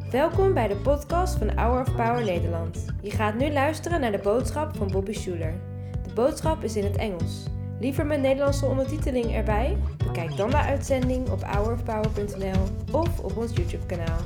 Welkom bij de podcast van Hour of Power Nederland. Je gaat nu luisteren naar de boodschap van Bobby Schuler. De boodschap is in het Engels. Liever met Nederlandse ondertiteling erbij? Bekijk dan de uitzending op hourofpower.nl of op ons YouTube-kanaal.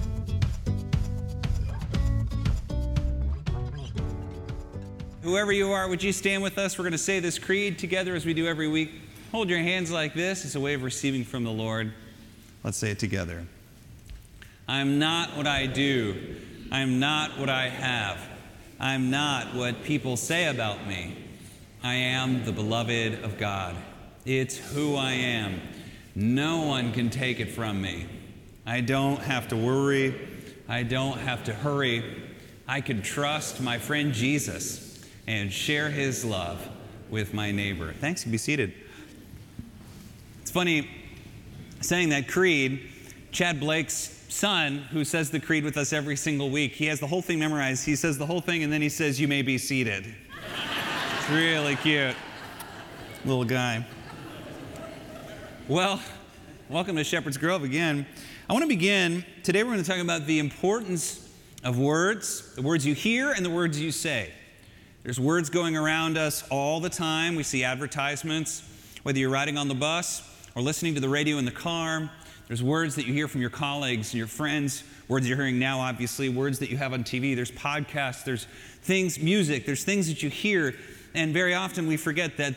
Whoever you are, would you stand with us? We're going to say this creed together as we do every week. Hold your hands like this. It's a way of receiving from the Lord. Let's say it together. I am not what I do. I am not what I have. I am not what people say about me. I am the beloved of God. It's who I am. No one can take it from me. I don't have to worry. I don't have to hurry. I can trust my friend Jesus and share his love with my neighbor. Thanks, you can be seated. It's funny, saying that creed, Chad Blake's son, who says the creed with us every single week, he has the whole thing memorized. He says the whole thing, and then he says, "You may be seated." It's really cute. Little guy. Well, welcome to Shepherd's Grove again. I want to begin, today we're going to talk about the importance of words, the words you hear and the words you say. There's words going around us all the time. We see advertisements, whether you're riding on the bus or listening to the radio in the car. There's words that you hear from your colleagues and your friends, words you're hearing now, obviously, words that you have on TV. There's podcasts, there's things, music, there's things that you hear, and very often we forget that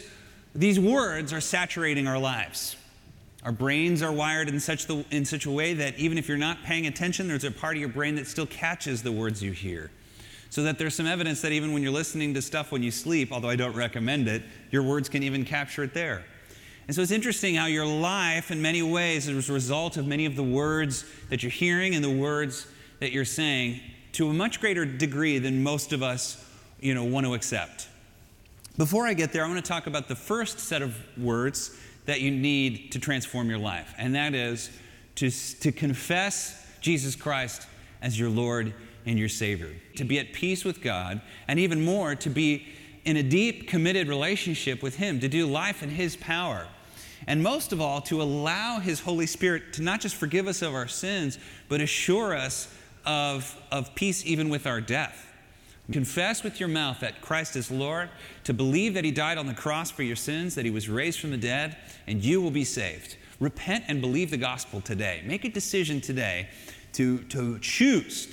these words are saturating our lives. Our brains are wired in such a way that even if you're not paying attention, there's a part of your brain that still catches the words you hear. So that there's some evidence that even when you're listening to stuff when you sleep, although I don't recommend it, your words can even capture it there. And so it's interesting how your life, in many ways, is a result of many of the words that you're hearing and the words that you're saying to a much greater degree than most of us, want to accept. Before I get there, I want to talk about the first set of words that you need to transform your life, and that is to confess Jesus Christ as your Lord and your Savior, to be at peace with God, and even more, to be in a deep, committed relationship with Him, to do life in His power. And most of all, to allow His Holy Spirit to not just forgive us of our sins, but assure us of peace even with our death. Confess with your mouth that Christ is Lord, to believe that He died on the cross for your sins, that He was raised from the dead, and you will be saved. Repent and believe the gospel today. Make a decision today to choose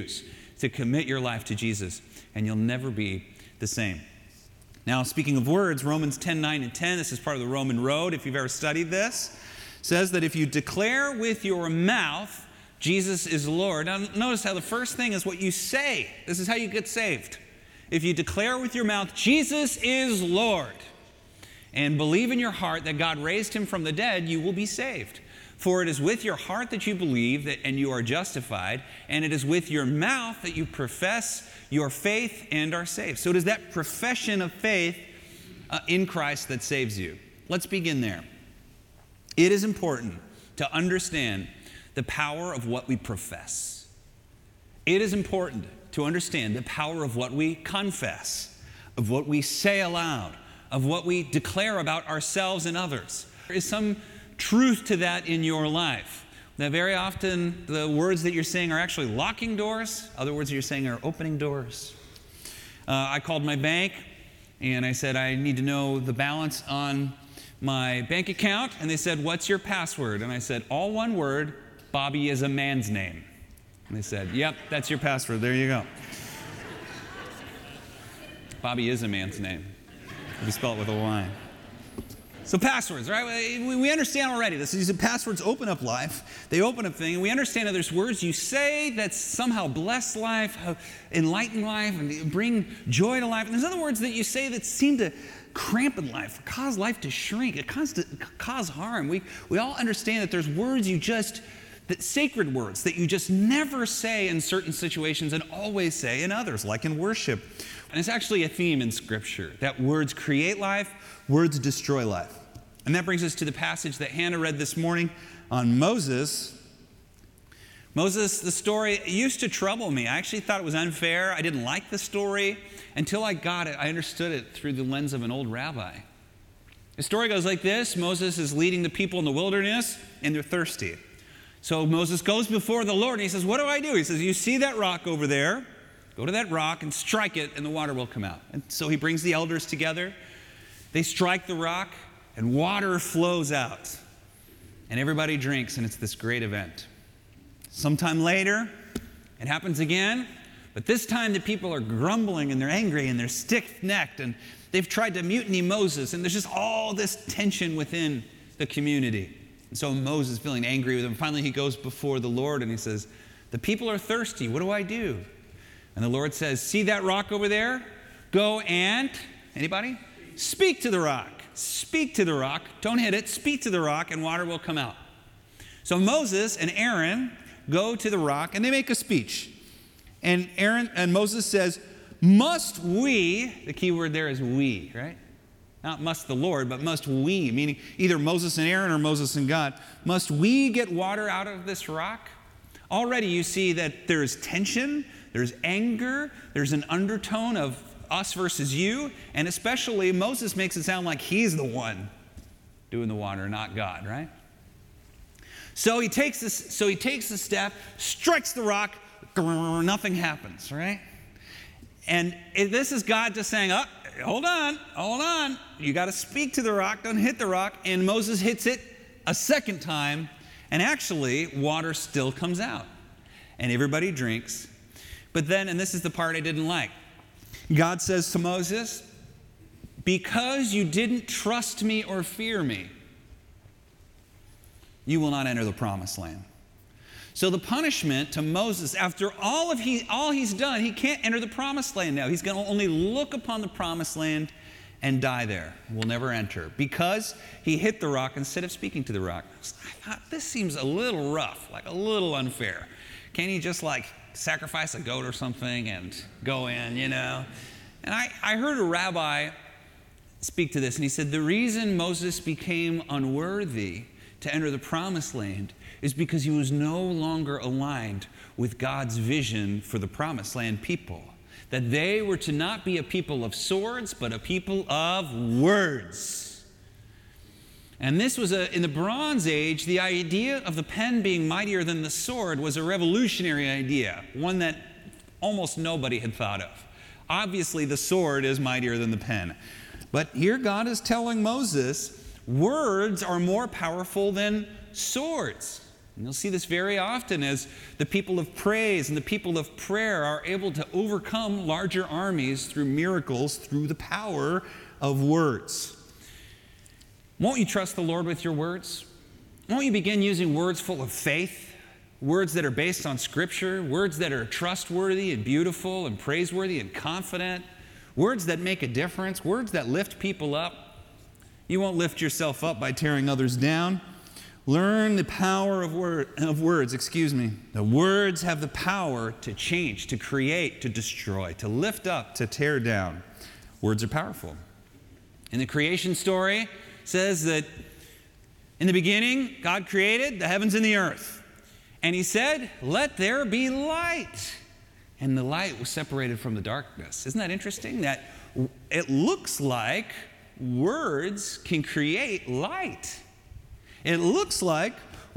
to commit your life to Jesus, and you'll never be the same. Now, speaking of words, Romans 10:9 and 10, this is part of the Roman road, if you've ever studied this, says that if you declare with your mouth Jesus is Lord. Now, notice how the first thing is what you say. This is how you get saved. If you declare with your mouth Jesus is Lord and believe in your heart that God raised Him from the dead, you will be saved. For it is with your heart that you believe and you are justified, and it is with your mouth that you profess your faith and are saved. So it is that profession of faith in Christ that saves you. Let's begin there. It is important to understand the power of what we profess. It is important to understand the power of what we confess, of what we say aloud, of what we declare about ourselves and others. There is some truth to that in your life. That very often the words that you're saying are actually locking doors. Other words that you're saying are opening doors. I called my bank and I said, I need to know the balance on my bank account. And they said, what's your password? And I said, all one word, Bobby is a man's name. And they said, yep, that's your password. There you go. Bobby is a man's name. If you spell it with a Y. So passwords, right? We understand already this. These passwords open up life. They open up things. And we understand that there's words you say that somehow bless life, enlighten life, and bring joy to life. And there's other words that you say that seem to cramp in life, cause life to shrink, cause harm. We all understand that there's words that sacred words that you just never say in certain situations and always say in others, like in worship. And it's actually a theme in Scripture, that words create life, words destroy life. And that brings us to the passage that Hannah read this morning on Moses. Moses, the story used to trouble me. I actually thought it was unfair. I didn't like the story until I got it. I understood it through the lens of an old rabbi. The story goes like this. Moses is leading the people in the wilderness, and they're thirsty. So Moses goes before the Lord and he says, what do I do? He says, you see that rock over there? Go to that rock and strike it and the water will come out. And so he brings the elders together. They strike the rock and water flows out. And everybody drinks and it's this great event. Sometime later, it happens again. But this time the people are grumbling and they're angry and they're stiff-necked and they've tried to mutiny Moses. And there's just all this tension within the community. And so Moses, feeling angry with them, finally he goes before the Lord and he says, the people are thirsty. What do I do? And the Lord says, see that rock over there? Go and, anybody? Speak to the rock. Speak to the rock. Don't hit it. Speak to the rock and water will come out. So Moses and Aaron go to the rock and they make a speech. And Moses says, must we, the key word there is we, right? Not must the Lord, but must we, meaning either Moses and Aaron or Moses and God. Must we get water out of this rock? Already you see that there's tension, there's anger, there's an undertone of us versus you, and especially Moses makes it sound like he's the one doing the water, not God, right? So he takes a step, strikes the rock, nothing happens, right? And this is God just saying, oh, hold on. You got to speak to the rock, don't hit the rock. And Moses hits it a second time, and actually water still comes out. And everybody drinks. But then, and this is the part I didn't like, God says to Moses, because you didn't trust me or fear me, you will not enter the promised land. So the punishment to Moses, after all he's done, he can't enter the promised land now. He's going to only look upon the promised land and die there. Will never enter because he hit the rock instead of speaking to the rock. I thought, this seems a little rough, like a little unfair. Can't he just sacrifice a goat or something and go in, And I heard a rabbi speak to this, and he said the reason Moses became unworthy to enter the promised land is because he was no longer aligned with God's vision for the promised land people. That they were to not be a people of swords, but a people of words. And this was in the Bronze Age, the idea of the pen being mightier than the sword was a revolutionary idea, one that almost nobody had thought of. Obviously, the sword is mightier than the pen. But here God is telling Moses, words are more powerful than swords. And you'll see this very often as the people of praise and the people of prayer are able to overcome larger armies through miracles, through the power of words. Won't you trust the Lord with your words? Won't you begin using words full of faith, words that are based on Scripture, words that are trustworthy and beautiful and praiseworthy and confident, words that make a difference, words that lift people up? You won't lift yourself up by tearing others down. Learn the power of words. The words have the power to change, to create, to destroy, to lift up, to tear down. Words are powerful. In the creation story, it says that in the beginning, God created the heavens and the earth. And he said, let there be light. And the light was separated from the darkness. Isn't that interesting? That it looks like words can create light. It looks like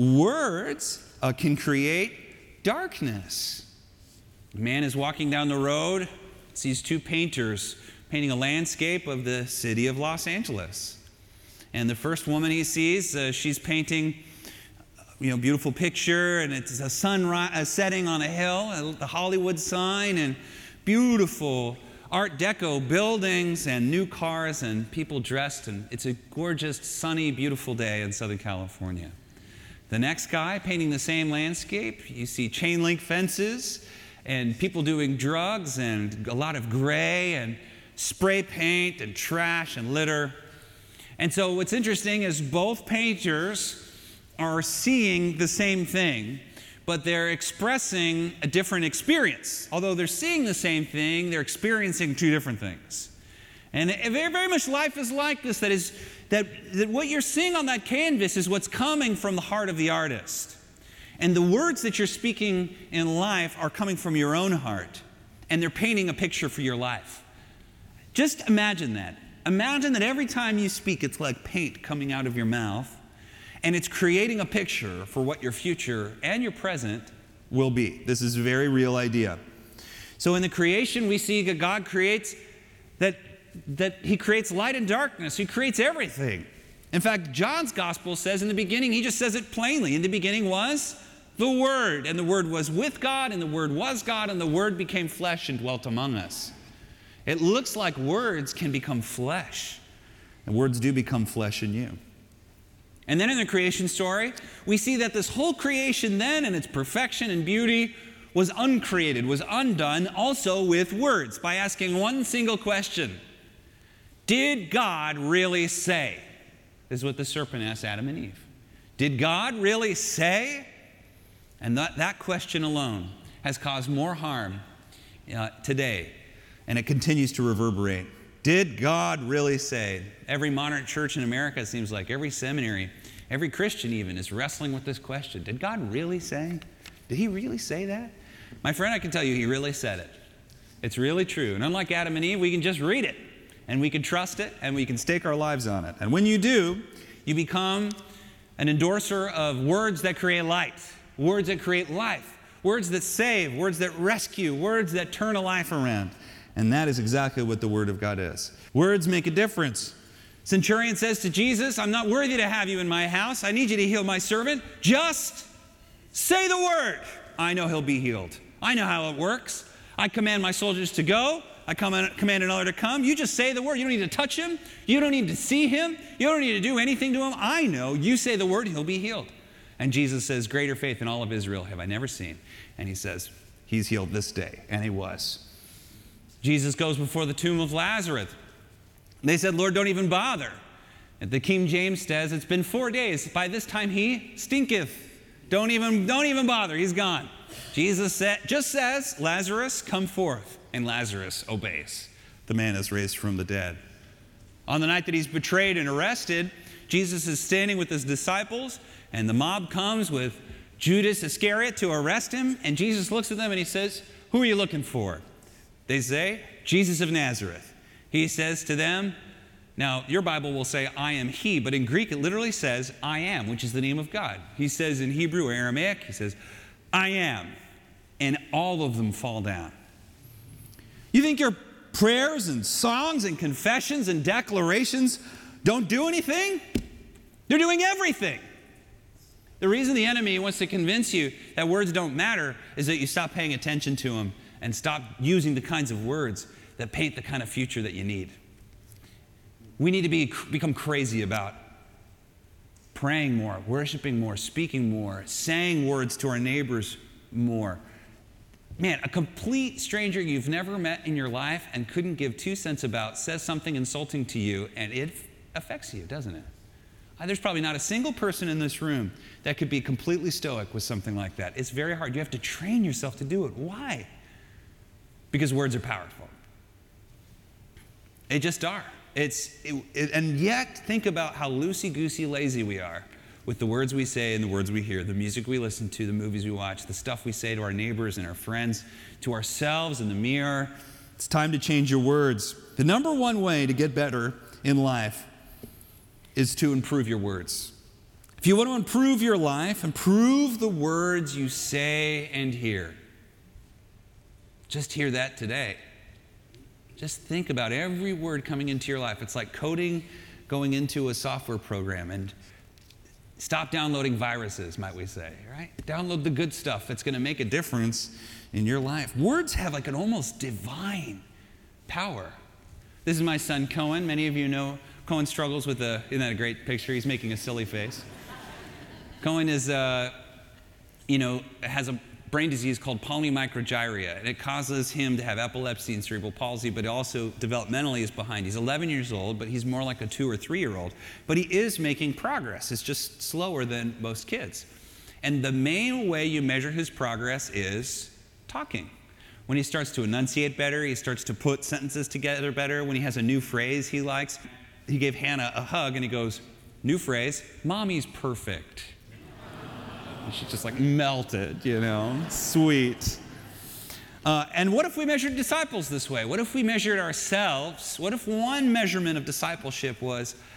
words can create darkness. A man is walking down the road, sees two painters painting a landscape of the city of Los Angeles. And the first woman he sees, she's painting beautiful picture, and it's a sunrise setting on a hill, the Hollywood sign, and beautiful Art Deco buildings and new cars and people dressed, and it's a gorgeous, sunny, beautiful day in Southern California. The next guy painting the same landscape, you see chain link fences and people doing drugs and a lot of gray and spray paint and trash and litter. And so what's interesting is both painters are seeing the same thing, but they're expressing a different experience. Although they're seeing the same thing, they're experiencing two different things. And very, very much life is like this, that what you're seeing on that canvas is what's coming from the heart of the artist. And the words that you're speaking in life are coming from your own heart, and they're painting a picture for your life. Just imagine that. Imagine that every time you speak, it's like paint coming out of your mouth. and it's creating a picture for what your future and your present will be. This is a very real idea. So in the creation, we see that God creates that he creates light and darkness. He creates everything. In fact, John's gospel says in the beginning, he just says it plainly. In the beginning was the Word, and the Word was with God, and the Word was God, and the Word became flesh and dwelt among us. It looks like words can become flesh, and words do become flesh in you. And then in the creation story, we see that this whole creation then, in its perfection and beauty, was uncreated, was undone, also with words, by asking one single question. Did God really say? This is what the serpent asked Adam and Eve. Did God really say? And that question alone has caused more harm today, and it continues to reverberate. Did God really say? Every modern church in America, it seems like, every seminary, every Christian even, is wrestling with this question. Did God really say? Did he really say that? My friend, I can tell you, he really said it. It's really true. And unlike Adam and Eve, we can just read it, and we can trust it, and we can stake our lives on it. And when you do, you become an endorser of words that create light, words that create life, words that save, words that rescue, words that turn a life around. And that is exactly what the Word of God is. Words make a difference. Centurion says to Jesus, I'm not worthy to have you in my house. I need you to heal my servant. Just say the word. I know he'll be healed. I know how it works. I command my soldiers to go. I command another to come. You just say the word. You don't need to touch him. You don't need to see him. You don't need to do anything to him. I know. You say the word, he'll be healed. And Jesus says, greater faith in all of Israel have I never seen. And he says, he's healed this day. And he was. Jesus goes before the tomb of Lazarus. They said, Lord, don't even bother. And the King James says, it's been 4 days. By this time he stinketh. Don't even bother. He's gone. Jesus just says, Lazarus, come forth. And Lazarus obeys. The man is raised from the dead. On the night that he's betrayed and arrested, Jesus is standing with his disciples, and the mob comes with Judas Iscariot to arrest him. And Jesus looks at them and he says, who are you looking for? They say, Jesus of Nazareth. He says to them, now your Bible will say, I am he, but in Greek it literally says, I am, which is the name of God. He says in Hebrew or Aramaic, he says, I am. And all of them fall down. You think your prayers and songs and confessions and declarations don't do anything? They're doing everything. The reason the enemy wants to convince you that words don't matter is that you stop paying attention to them and stop using the kinds of words that paint the kind of future that you need. We need to become crazy about praying more, worshiping more, speaking more, saying words to our neighbors more. Man, a complete stranger you've never met in your life and couldn't give 2 cents about says something insulting to you, and it affects you, doesn't it? There's probably not a single person in this room that could be completely stoic with something like that. It's very hard. You have to train yourself to do it. Why? Because words are powerful. They just are. And yet, think about how loosey-goosey lazy we are with the words we say and the words we hear, the music we listen to, the movies we watch, the stuff we say to our neighbors and our friends, to ourselves in the mirror. It's time to change your words. The number one way to get better in life is to improve your words. If you want to improve your life, improve the words you say and hear. Just hear that today. Just think about every word coming into your life. It's like coding going into a software program. And stop downloading viruses, might we say, right? Download the good stuff that's going to make a difference in your life. Words have like an almost divine power. This is my son, Cohen. Many of you know Cohen struggles with isn't that a great picture? He's making a silly face. Cohen is, has a brain disease called polymicrogyria, and it causes him to have epilepsy and cerebral palsy, but also developmentally is behind. He's 11 years old, but he's more like a 2 or 3 year old. But he is making progress. It's just slower than most kids. And the main way you measure his progress is talking. When he starts to enunciate better, he starts to put sentences together better. When he has a new phrase he likes, he gave Hannah a hug and he goes, new phrase, mommy's perfect. And she just like melted, sweet. And what if we measured disciples this way? What if we measured ourselves? What if one measurement of discipleship was,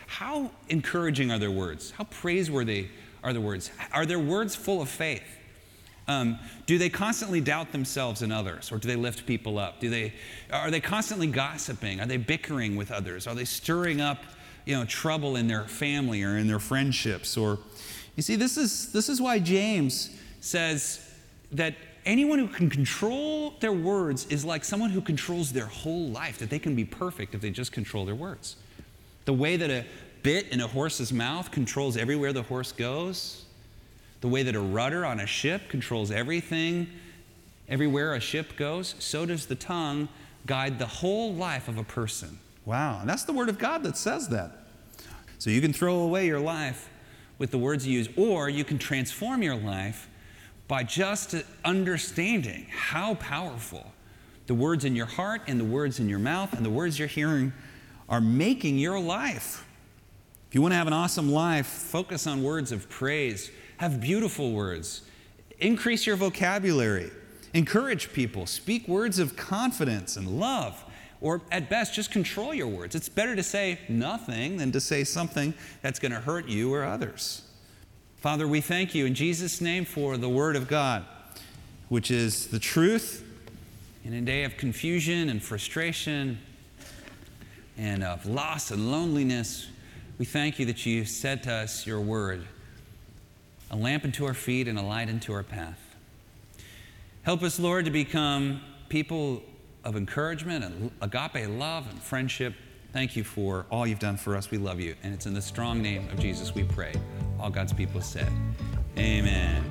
How encouraging are their words? How praiseworthy are their words? Are their words full of faith? Do they constantly doubt themselves and others, or do they lift people up? Are they constantly gossiping? Are they bickering with others? Are they stirring up, trouble in their family or in their friendships? Or, you see, this is why James says that anyone who can control their words is like someone who controls their whole life, that they can be perfect if they just control their words. The way that a bit in a horse's mouth controls everywhere the horse goes, the way that a rudder on a ship controls everything, everywhere a ship goes, so does the tongue guide the whole life of a person. Wow, and that's the Word of God that says that. So you can throw away your life with the words you use, or you can transform your life by just understanding how powerful the words in your heart and the words in your mouth and the words you're hearing are making your life. If you want to have an awesome life, focus on words of praise. Have beautiful words. Increase your vocabulary. Encourage people. Speak words of confidence and love. Or at best, just control your words. It's better to say nothing than to say something that's going to hurt you or others. Father, we thank you in Jesus' name for the Word of God, which is the truth in a day of confusion and frustration and of loss and loneliness. We thank you that you said to us your word, a lamp unto our feet and a light unto our path. Help us, Lord, to become people of encouragement and agape love and friendship. Thank you for all you've done for us. We love you. And it's in the strong name of Jesus we pray. All God's people said, amen.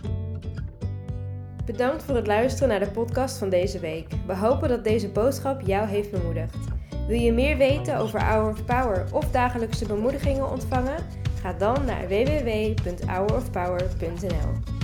Bedankt voor het luisteren naar de podcast van deze week. We hopen dat deze boodschap jou heeft bemoedigd. Wil je meer weten over Hour of Power of dagelijkse bemoedigingen ontvangen? Ga dan naar www.hourofpower.nl.